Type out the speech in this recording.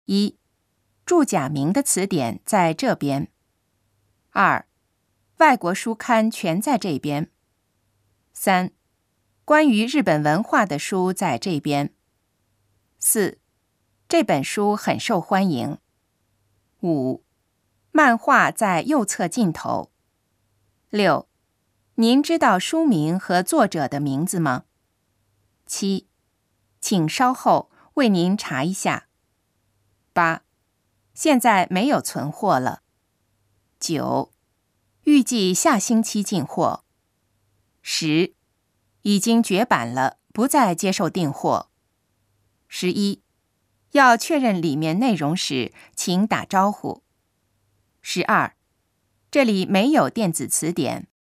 一、注假名的词典在这边。2、外国书刊全在这边。3、关于日本文化的书在这边。4、这本书很受欢迎。5、漫画在右侧尽头。6、您知道书名和作者的名字吗？7、请稍后，为您查一下。8、现在没有存货了。9、预计下星期进货。10、已经绝版了，不再接受订货。11、要确认里面内容时，请打招呼。12、这里没有电子词典。